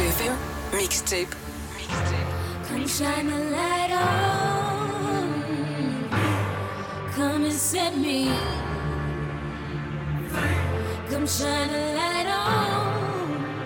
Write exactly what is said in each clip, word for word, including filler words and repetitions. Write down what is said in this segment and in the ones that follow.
F M Mixtape. Come shine the light on. Come and set me. Come shine the light on.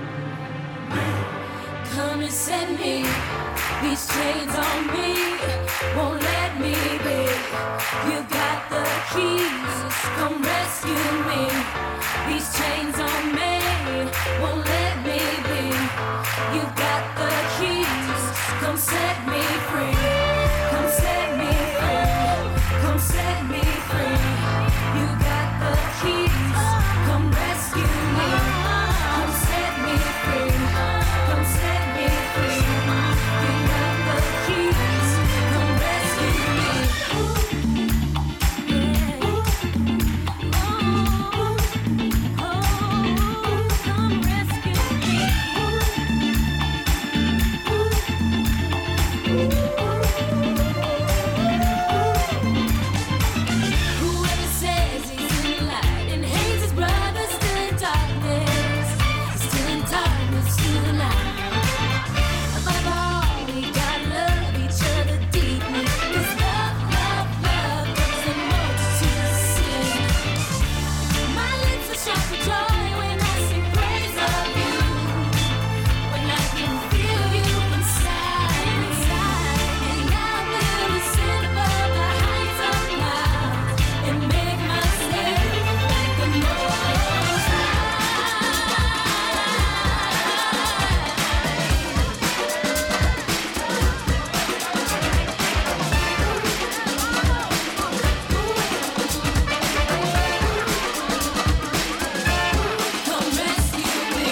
Come and set me. These chains on me won't let me be. You got the keys. Come rescue me. These chains on me won't let me be. You got the keys. Come set me free. Come set me free. Come set me free. You got the keys. Come rescue me. Come set me free. Come set me free. You got the keys. Come rescue me. Yeah. Oh, oh, come rescue me. Whoever says he's in the light and hates his brother still in darkness, still in darkness tonight. Above all, we gotta love each other deeply. 'Cause love, love, love covers a multitude of sins. My lips are sharp for joy when I sing praise of you. When I can feel you inside me, and I will ascend above the heights of clouds and make myself like the Most High. Come rescue me.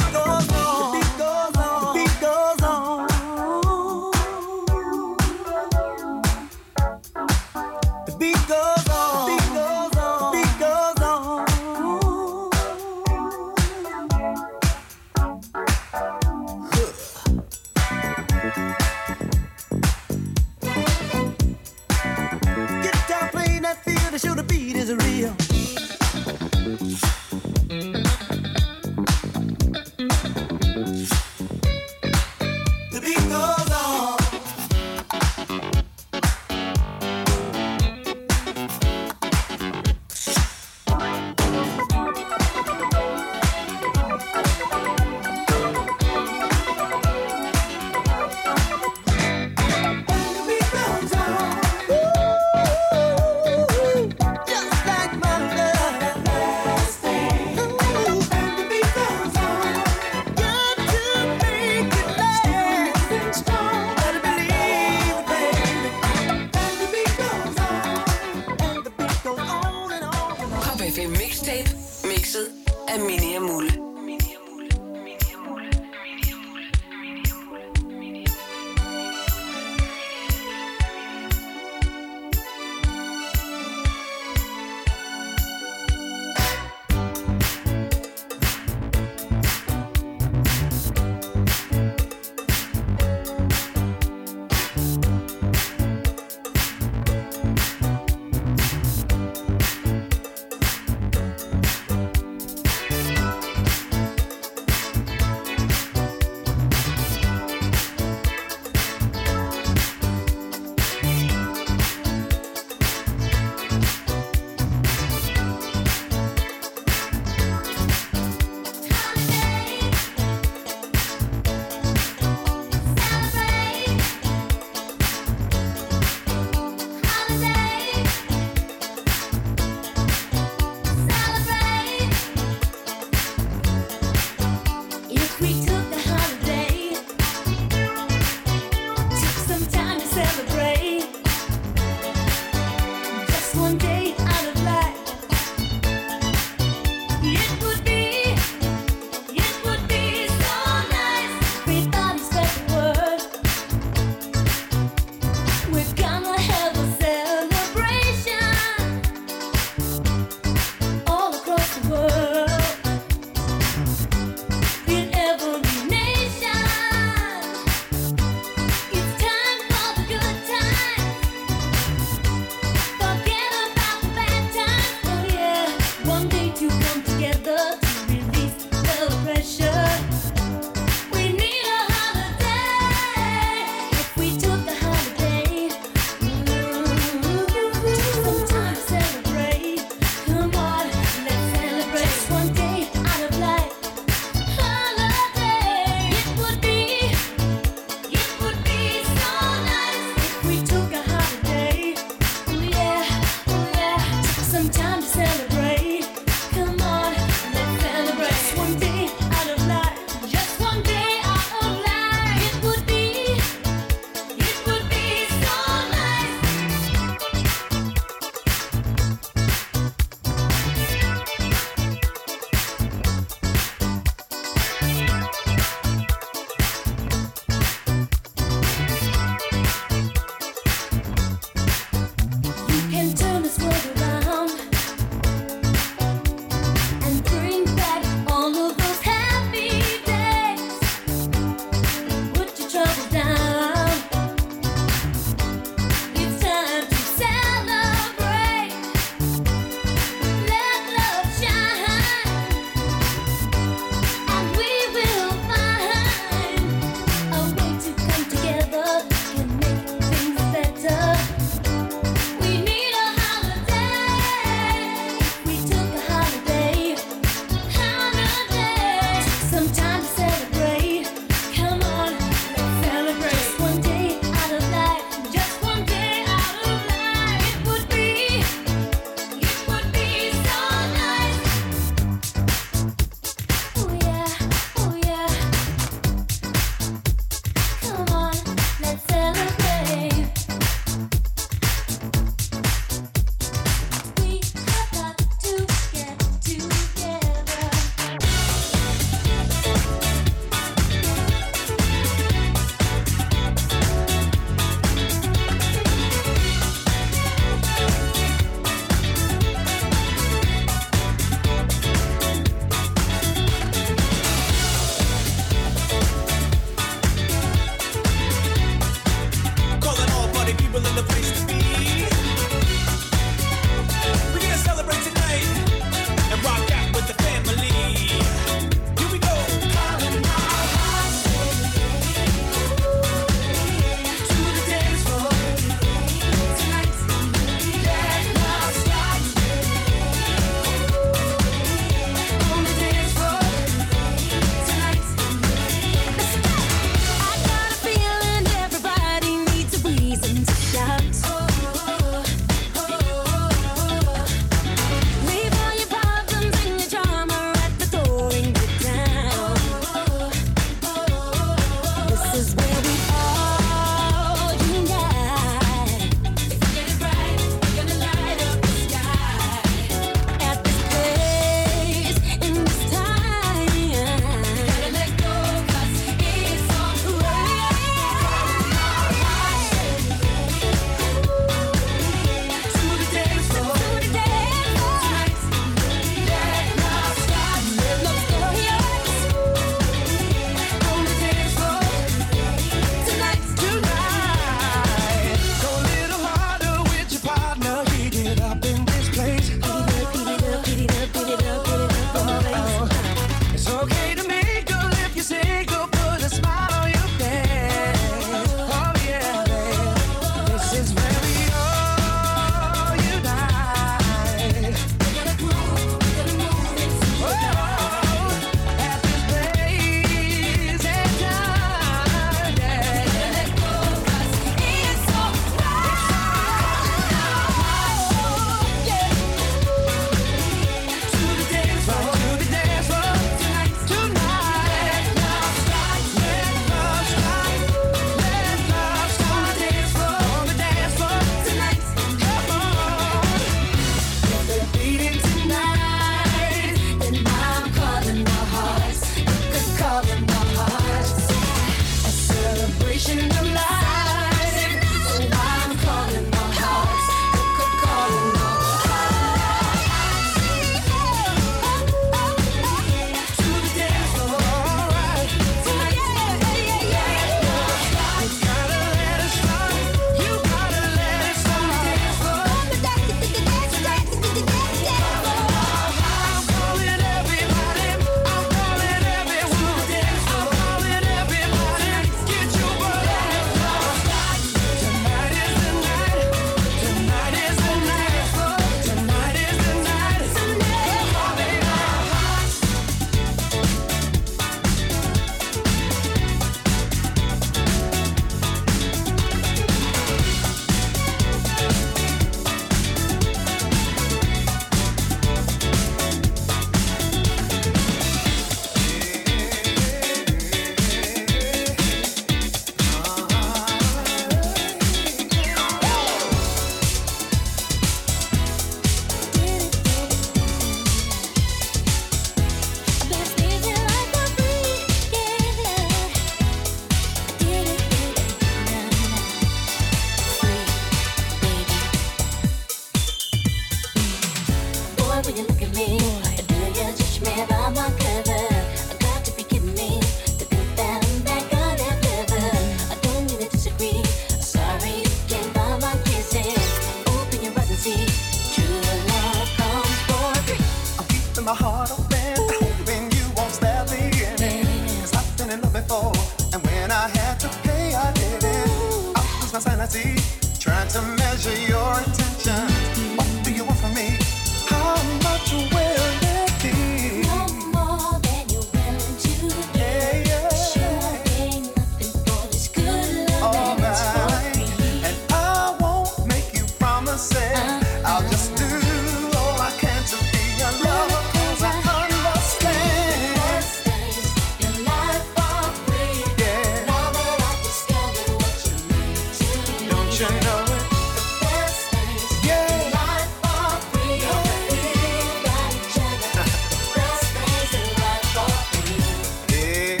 in love before, and when I had to pay, I did it. I lose my sanity, trying to measure your intention. What do you want from me? How much will it be? No more than you're willing to give. Yeah, yeah. Sure ain't nothing for this good love All and it's for right, free. and I won't make you promises. Uh, I'll just do all I can to be your lover, 'cause I understand. Best days in life are free. Yeah, Now that I've discovered what you mean to me. don't you know it? Best days Yeah. in life are free. We've got each other. Best days in life are free. Yeah,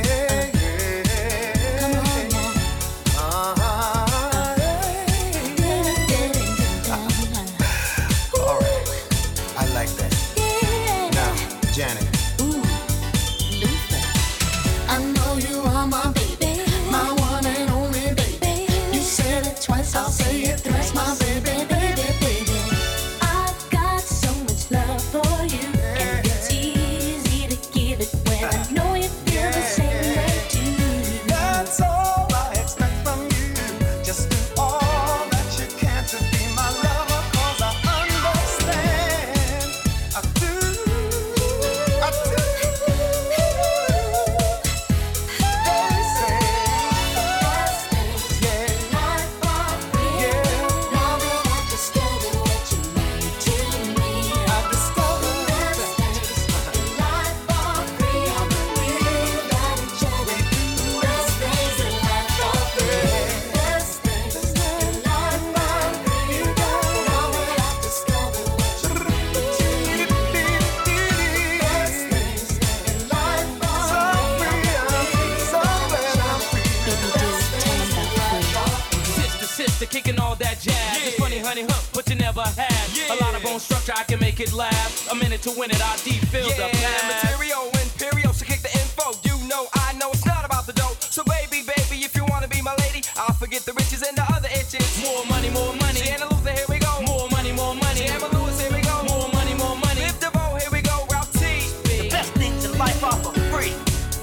yeah. Come on now. Uh-huh. All right, I like that. Now, Janet, Ooh, Luther. I know you are my baby, my one and only baby. baby. You said it twice, I'll say it thrice, my baby, baby, baby. I've got so much love for you, and it's easy to give it when I know you feel the same way too. That's all I expect from you. Just do all that you can to be my lover, 'cause I understand. I do, I do. They say, Best days yeah, in life are free. yeah. Now that I've discovered what you mean to me. I discovered Best that days in life are free. We've got each other. Best days in life are free. Best days in life are free. Now that I've discovered what you mean to me. Best days in life are so free, I'm so glad I'm free. Baby, just tell 'em about free. Sister, sister, kicking all that jazz. It's funny, honey, huh? But you never had a lot of bone structure. I can make it last. A minute to win it. I deep feel the Yeah, past. material, imperial, so kick the info. You know, I know it's not about the dough. So baby, baby, if you wanna be my lady, I'll forget the riches and the other itches. More money, more money. Sienna Luther, here we go. More money, more money. Emma Lewis, here we go. More money, more money. Liv DeVoe, here we go. Ralph T. The best things in life are for free.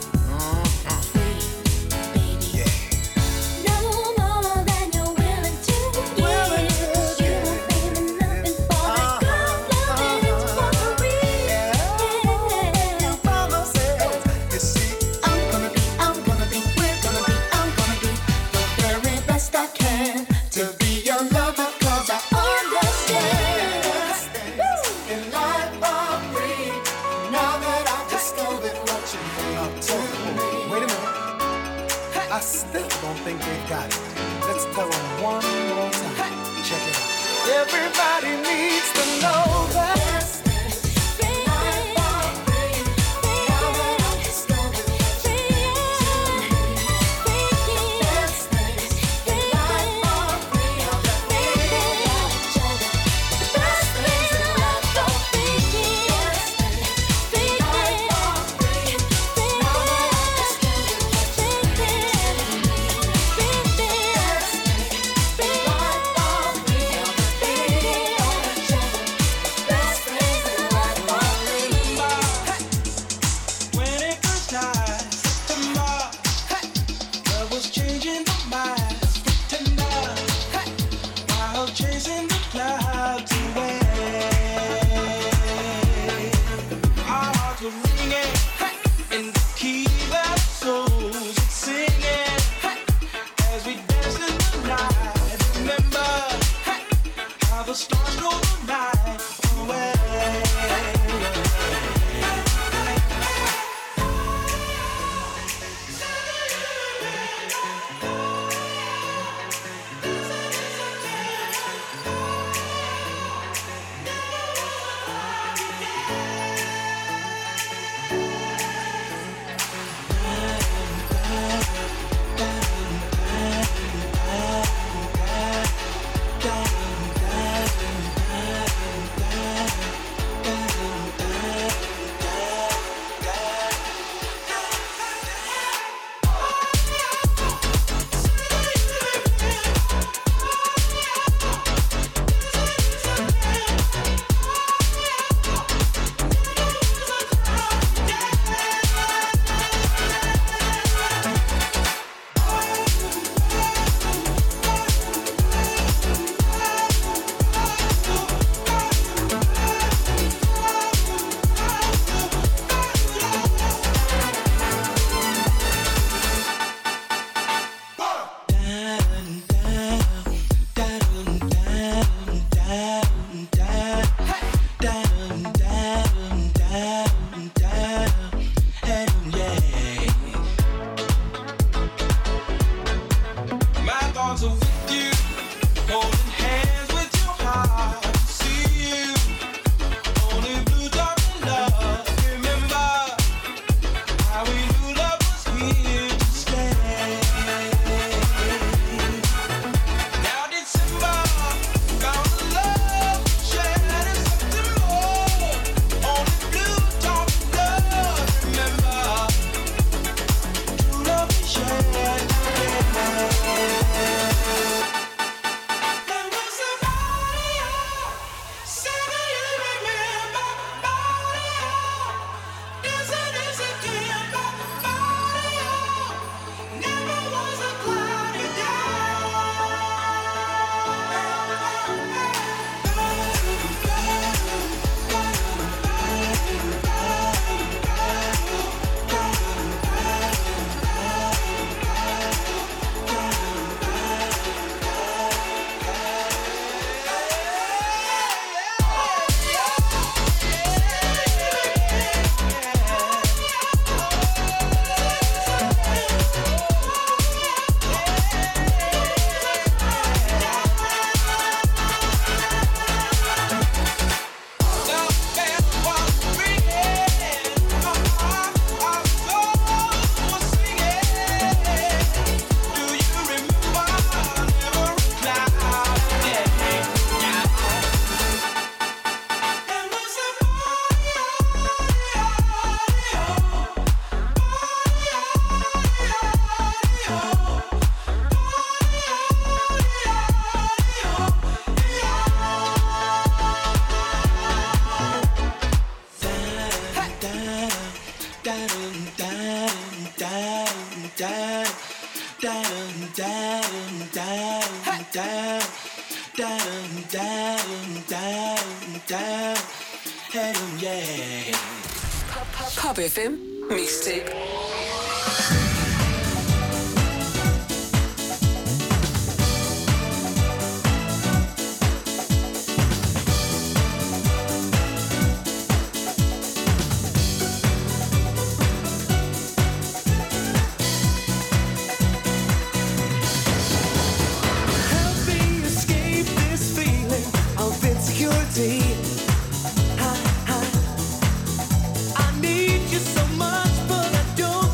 Baby. No more than you're willing to give. Willing to 'Cause you won't pay me nothing for this good love and it's for free. Yeah. Promises, you see, I'm gonna be, I'm gonna be, we're gonna be, I'm gonna be the very best I can to be your lover, 'cause I understand. In life are free. Now that I've discovered what you mean to me. wait a minute. I still don't think they got it. Let's tell them one more time. Check it out. Everybody needs to know that. Best days in life are free. Now that I've discovered what you mean to me. Best days in life are free. We've got each other. Best days in life are free. Best days in life are free. Now that I've discovered what you mean to me. Best days in life are free. We've got each other. Best Pop F M Mixtape. I need you so much, but I don't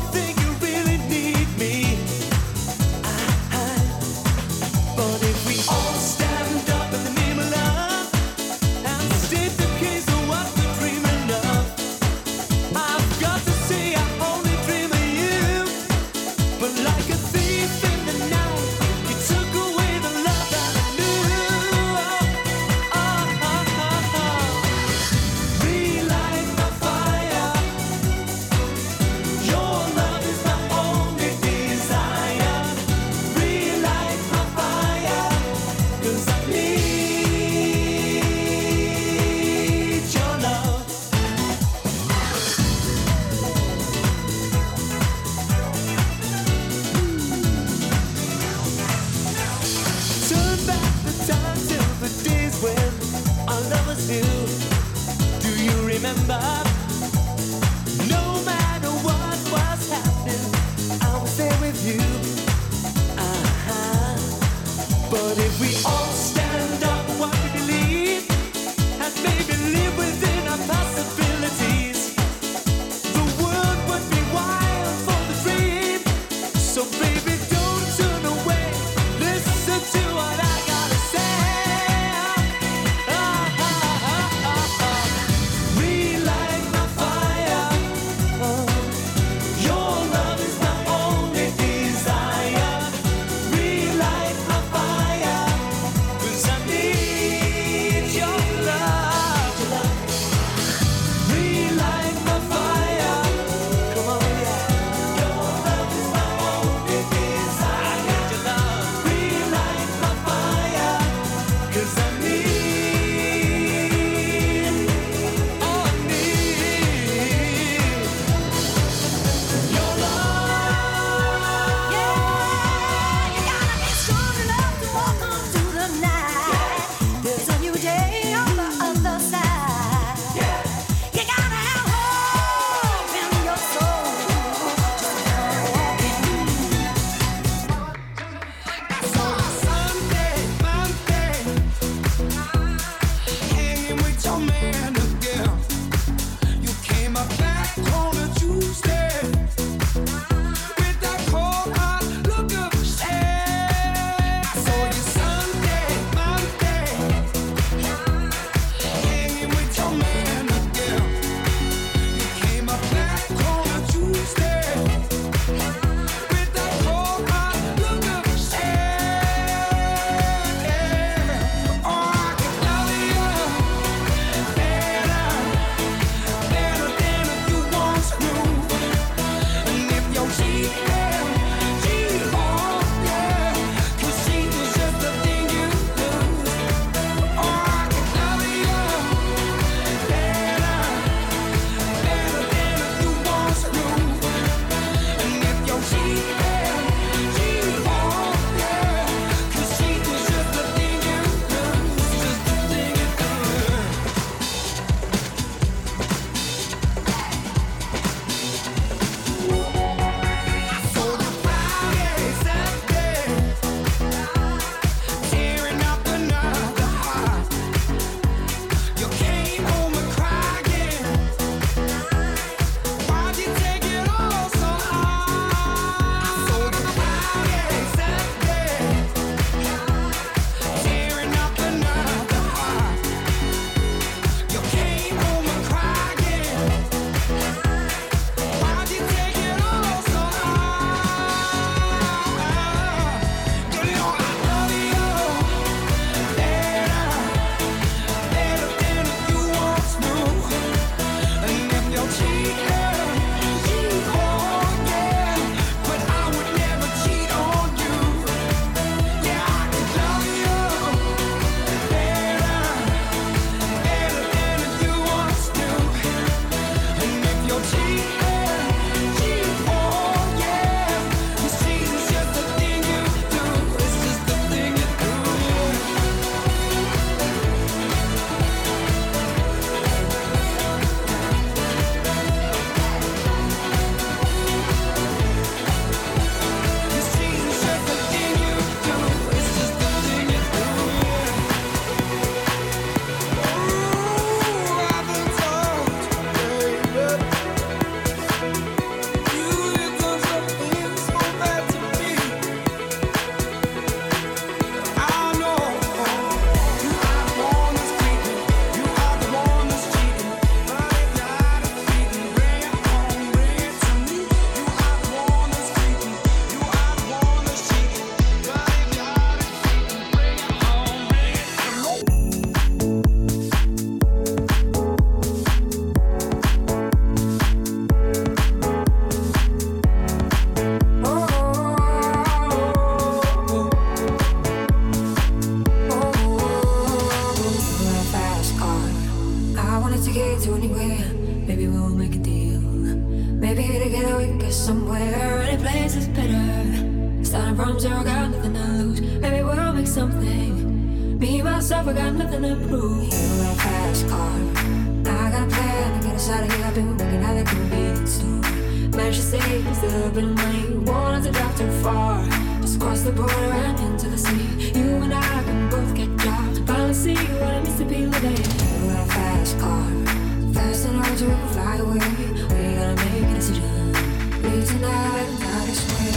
Starting from zero, got nothing to lose. Maybe we'll make something. Me, myself, I got nothing to prove. You got a fast car. Now I got a plan to get us out of here. I've been working at the convenience store. Managed to save a little bit of money. Won't have to drive too far. Just cross the border and into the city. You and I can both get jobs. Finally see what it means to be living. You got a fast car. Fast enough to fly away. We gotta make a decision. Leave tonight and die this way.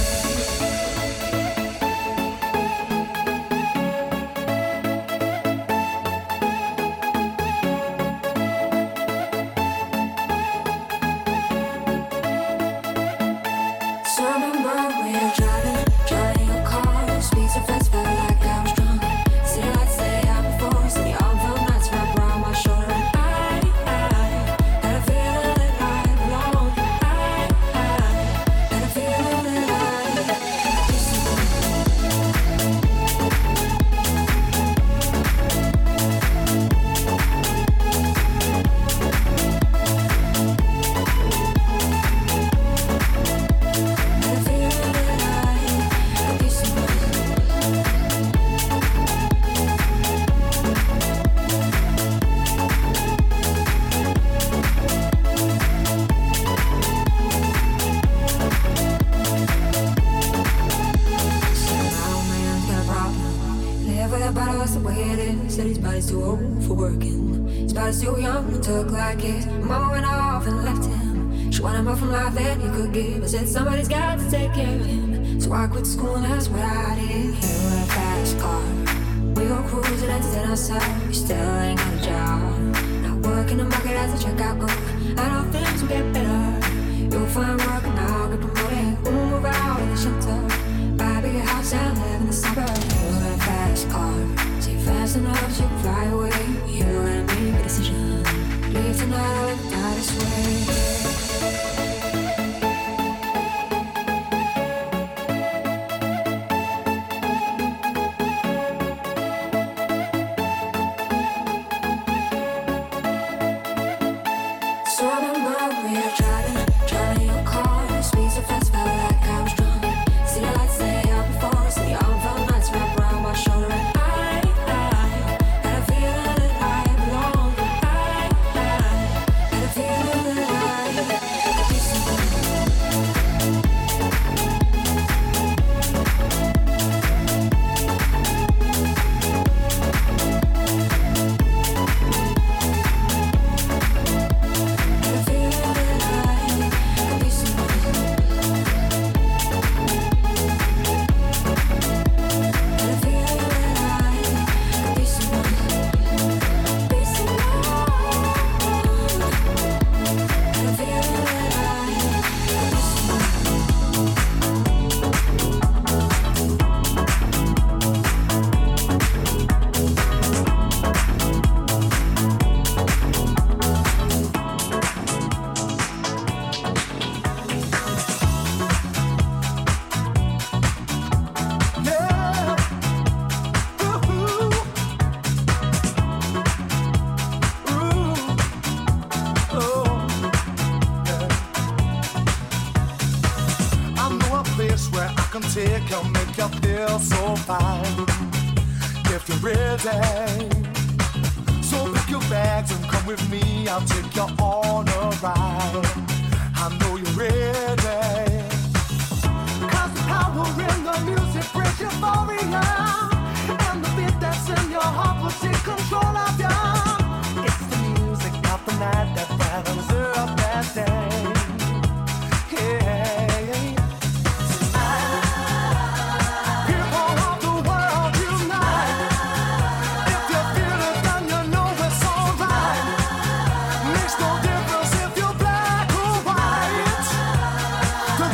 Said somebody's got to take care of him. So I quit school and that's what I did. You got a fast car. We go cruising and entertain ourselves. You still ain't got a job. Not working the market as a checkout girl. I know things will get better. You'll find work and I'll get promoted. We'll move out of the shelter. Buy a bigger house and live in the suburbs. You got a fast car. So you're fast enough so you can fly away. You gotta make a decision. Leave tonight or die this way. Makes no difference if you're black or white.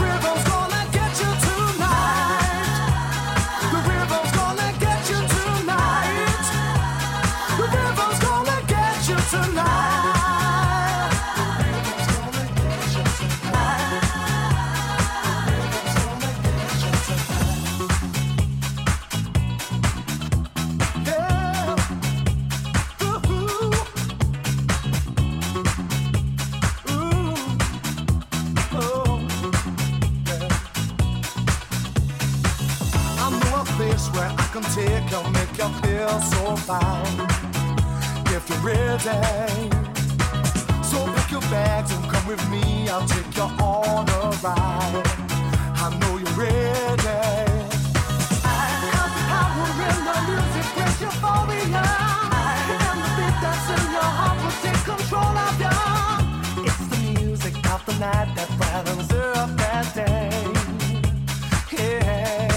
place where I can take you, make you feel so fine. If you're ready, so pack your bags and come with me. I'll take you on a ride. I know you're ready. I have the power in the music, brings euphoria, and the beat that's in your heart will take control of you. It's the music of the night that brightens up that day. Yeah.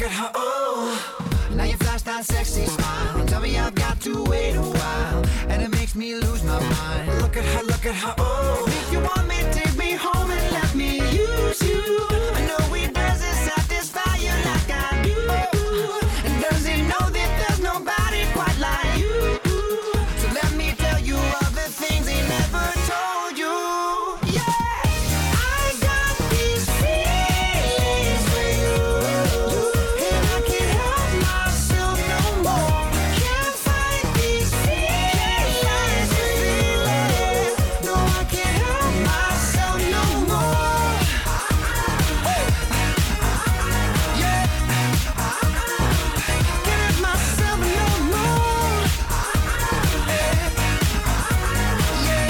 at her, oh. Now you flash that sexy smile. Tell me I've got to wait a while, and it makes me lose my mind. Look at her, look at her, oh. If you want me, take me home and let me use you. I know he doesn't satisfy you like I do. And does he know that there's nobody quite like you? So let me tell you all the things he never told you. Yeah, I got these feelings for you, and I can't help myself no more. Can't fight these feelings, feelings. No, I can't help myself no more. Yeah, can't help myself no more. Yeah, yeah.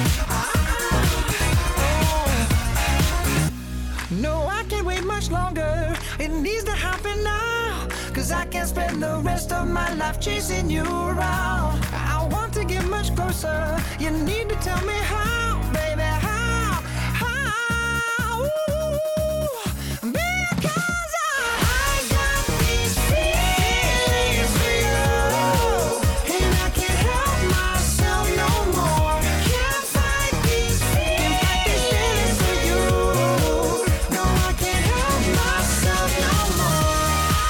No, I can't wait much longer. It needs to happen now, 'cause I can't spend the rest of my life chasing you around. I want to get much closer. You need to tell me how, baby, how, how. Ooh, because I, I got these feelings for you, and I can't help myself no more. Can't fight these feelings for you. No, I can't help myself no more.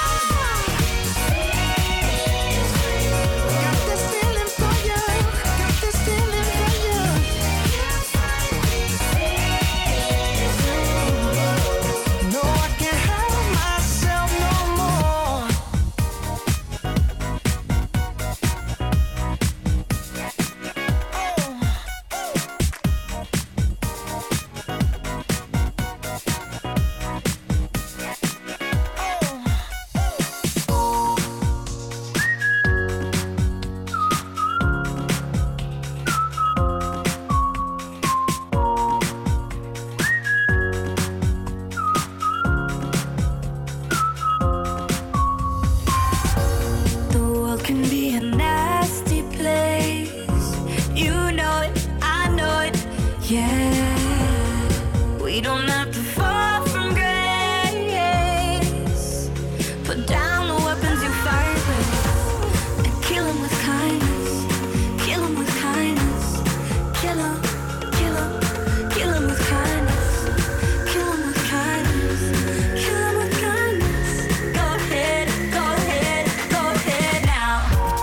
Got this feeling for you. Got this feeling for you. Can't fight these feelings. No, I can't help myself no more. The world can be a nasty place. You know it, I know it, yeah. We don't have to fall from grace. Put down the weapons you fight with, and kill 'em with kindness. Kill 'em with kindness. Kill 'em, kill 'em, kill 'em with kindness. Kill 'em with kindness. Kill 'em with kindness. Go ahead, go ahead, go ahead now.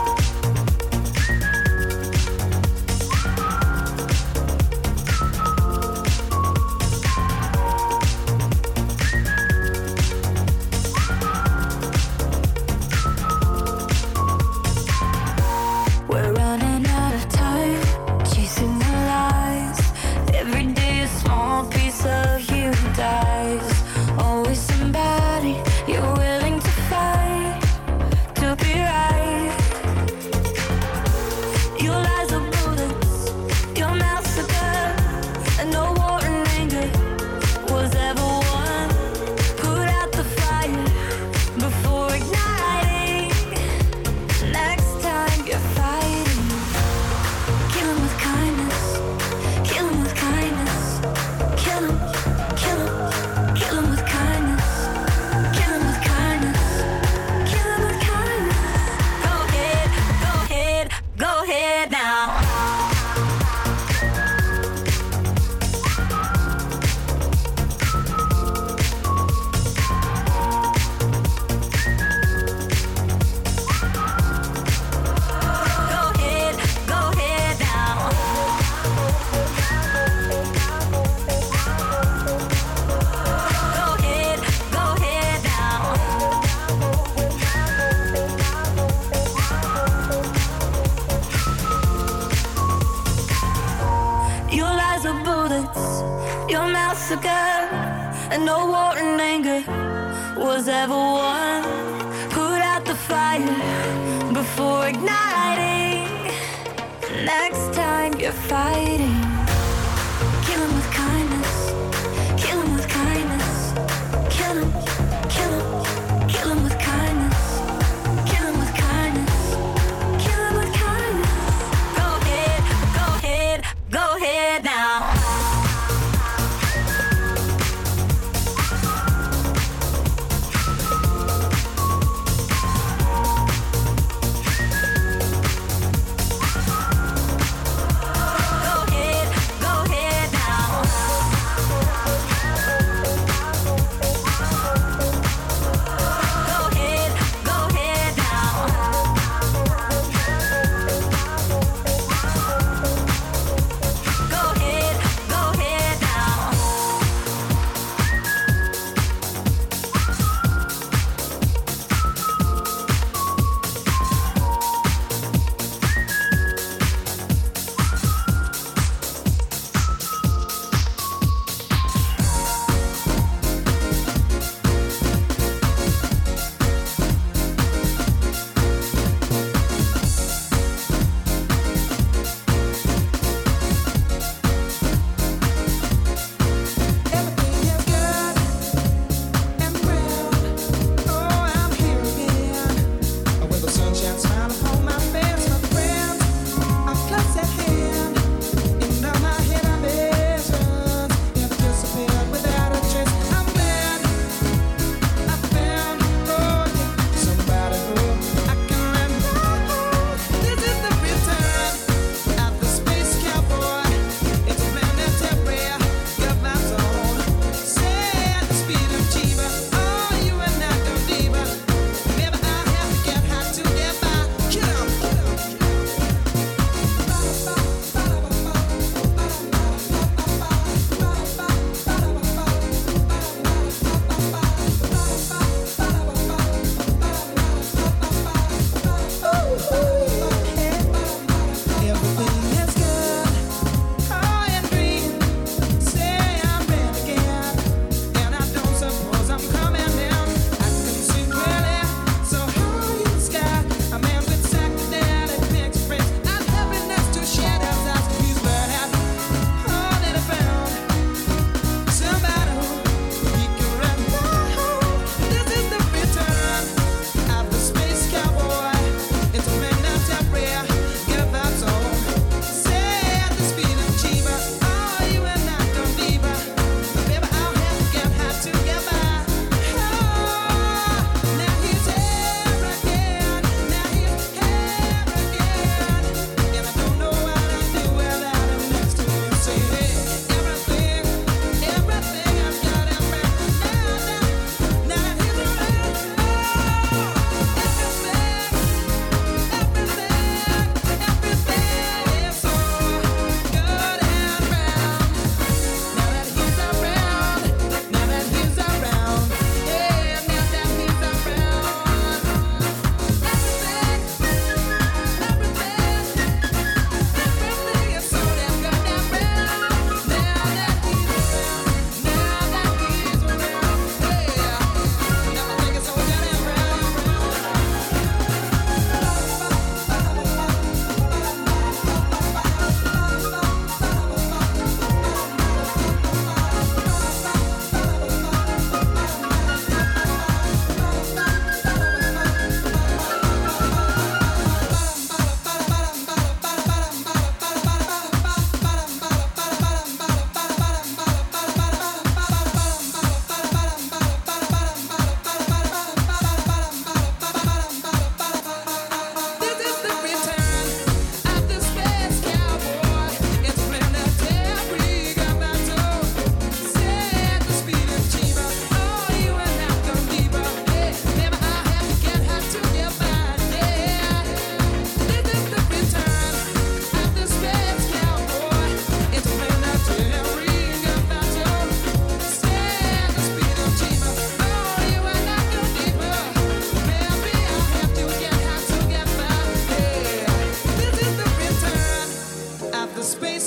We're running out of time, chasing the lies. Every day a small piece of you dies. Always somebody you're willing to fight to be right. Your lies are bullets, your mouth's a gun, and no war and anger was ever won. Put out the fire before igniting. Next time you're fighting, kill 'em with kindness. Kill 'em with kindness. Kill 'em, kill 'em, kill 'em with kindness. Kill 'em with kindness. Kill 'em with kindness. Go ahead, go ahead, go ahead now. Go ahead, go ahead now. Go ahead, go ahead now. Your lies are bullets, your mouth's a gun, and no war and anger was ever won. Put out the fire before igniting. Next time you're fighting, kill 'em with kindness. Kill 'em with kindness. Kill 'em, kill 'em, kill 'em with kindness. Kill 'em with kindness. Kill 'em with kindness. Go ahead, go ahead, go ahead now.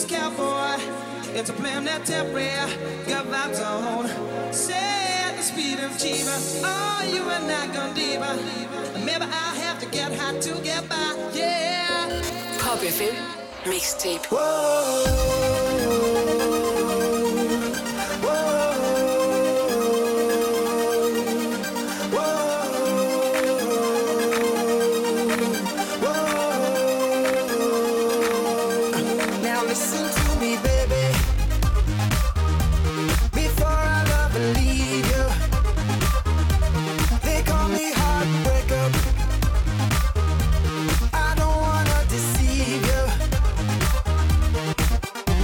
this cowboy. It's a plan that temporary, got vibes on. Say the speed of Chiba, oh, you are not gonna diva. Maybe I have to get high to get by, yeah. Pop F M Mixtape. Whoa, whoa. Listen to me, baby. Before I love and leave you, they call me heartbreaker. I don't wanna deceive you.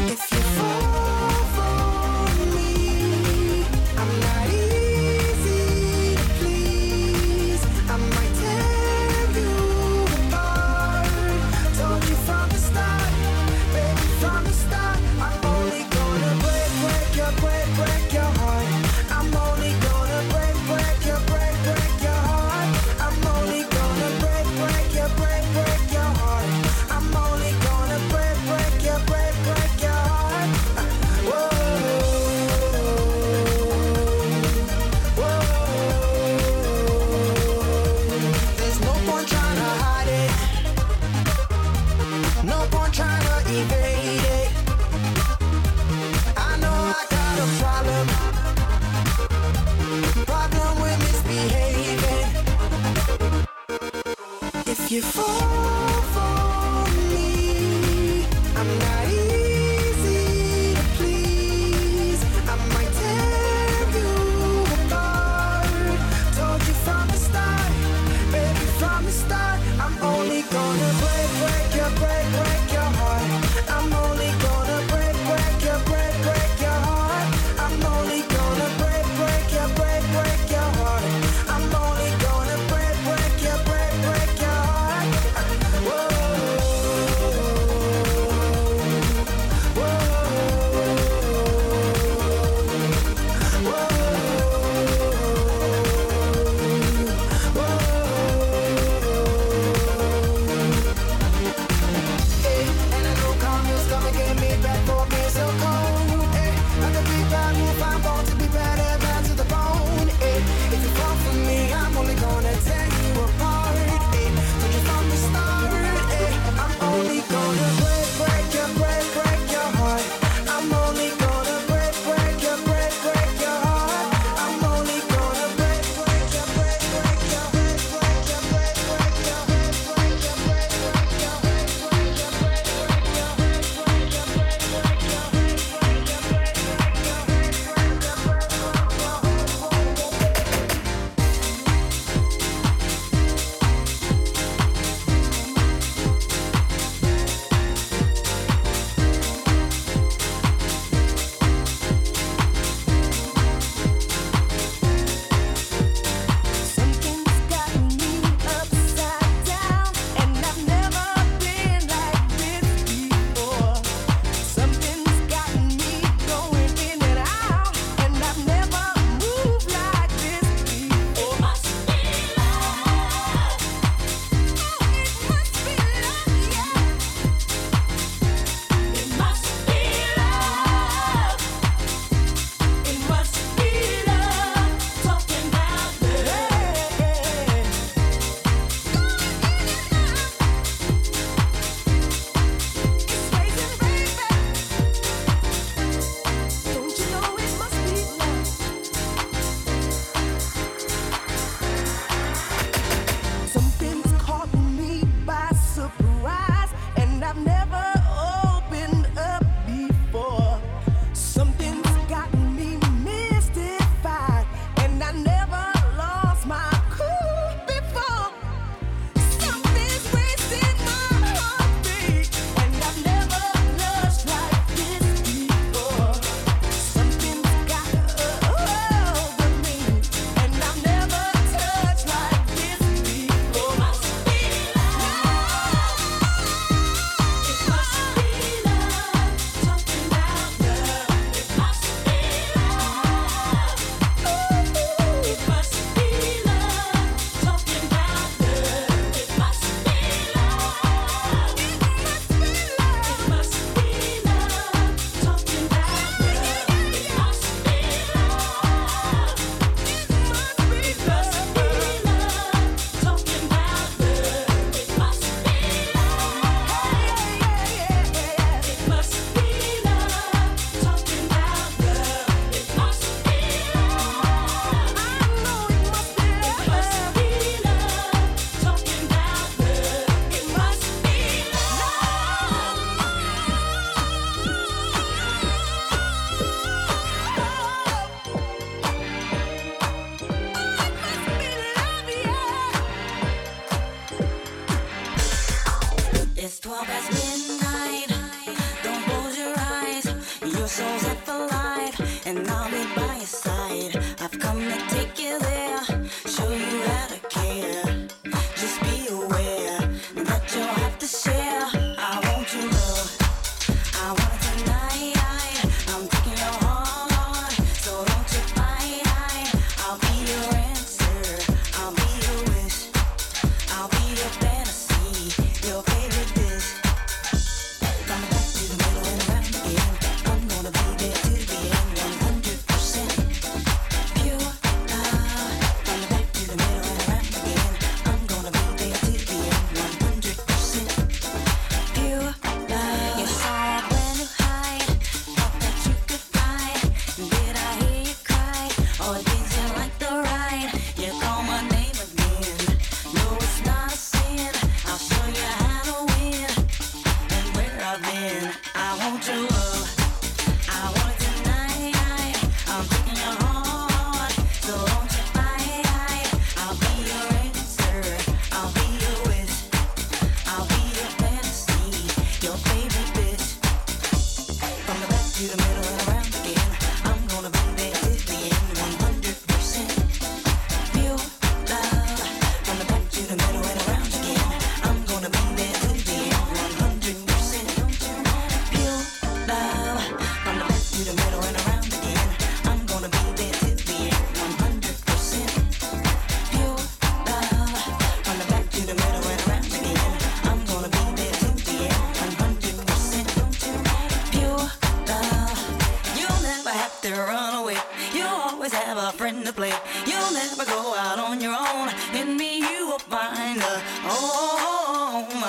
your soul's up alive, and I'll be by your side. I've come to take you there, show you how to care. Just be aware that you'll have to share. I want your love, I want it tonight. I'm taking your heart, so don't you fight. I'll be your answer, I'll be your wish, I'll be your fantasy, your favorite dish. From the back to the middle and around again, I'm gonna be there till the end, one hundred percent pure love. From the back to the middle and around again, I'm gonna be there till the end, one hundred percent pure love. You saw a brand new height, thought that you could fly. Did I hear you cry, or did you like the ride? You call my name again, no it's not a sin. I'll show you how to win, and where I've been. I want your love, I want it tonight. I'm taking your heart, so don't you fight. I'll be your answer, I'll be your wish, I'll be your fantasy, your favorite bitch. From the back to the middle and around again, I'm gonna be there till the end, one hundred percent pure love. From the back to the middle and around again, I'm gonna be there till the end, one hundred percent pure love. From the back to the middle and around again, I'm gonna be there till the end, one hundred percent pure love. From the back to the middle and around again, I'm gonna be there till the end, one hundred percent pure love. You'll never have to run away, you'll always have a friend to play. You'll never go out on your own, in me you will find a home,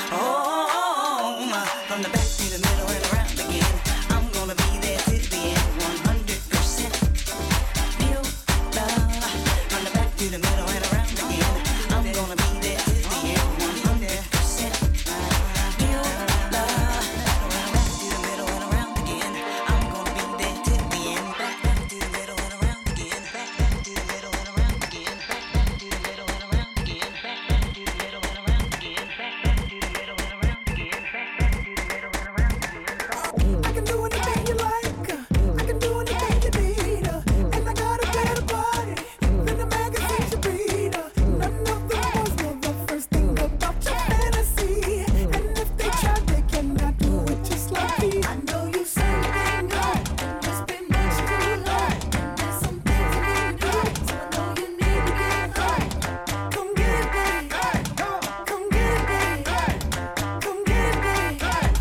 home. From the back to the middle and around again, I'm gonna be there till the end, one hundred percent pure love. From the back to the middle and around again, I'm gonna be there till the end, one hundred percent pure love. Back to the middle and around again, I'm gonna be there till the end. Back, back to the middle and around again. Back, back to the middle and around again. Back, back to the middle and around again. Back, back to the middle and around again. Back, back to the middle and around again. Back, back to the middle and around again. I can do anything you like, I can do anything you need, and I got a better body than the magazines you read. None of the boys know the first thing about your fantasy, and if they try, they cannot do it just like me. I know you say things good, it's been much too long. There's some things you need to do, so I know you need to get right. Come get it, babe. Come get it, babe. Come get it, babe.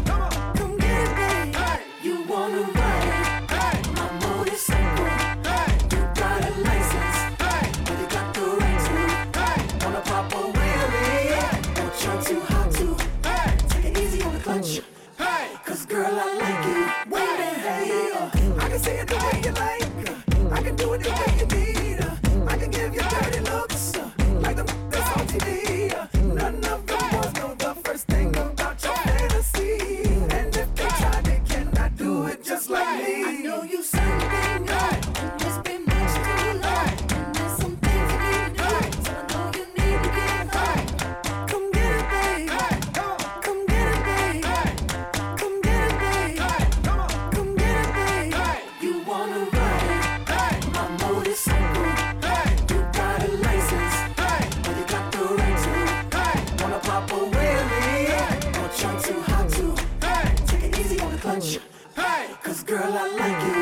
Come get it, babe. You wanna ride it, my motorcycle. You got a license, but you got the right to. Wanna pop a wheelie, don't try too hard to. Take it easy on the clutch, cause girl I like you. Wait a hey, uh, I can say it the way you like, uh, I can do it the way you need, uh, I can give you dirty looks, uh, like the that's on T V. uh, None of the boys know the first thing about your fantasy, and if they try, they cannot do it just like me. I know you say things good, it's been much too long, and there's some things you need to do, so I know you need to get right. Come get it, babe. Come get it, babe. Come get it, babe. Come get it, babe. You wanna ride it, my motorcycle. You got a license, but you got the right to. Wanna pop a wheelie, don't try too hard to. Take it easy on the clutch, cause girl I like you.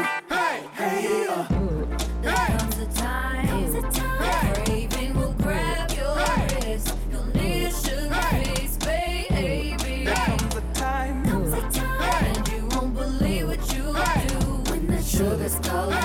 Hey, uh. There comes a time, the craving will grab your wrist. You'll need a sugar face, baby. There comes a time, Comes a time, and you won't believe what you do when the sugar's calling.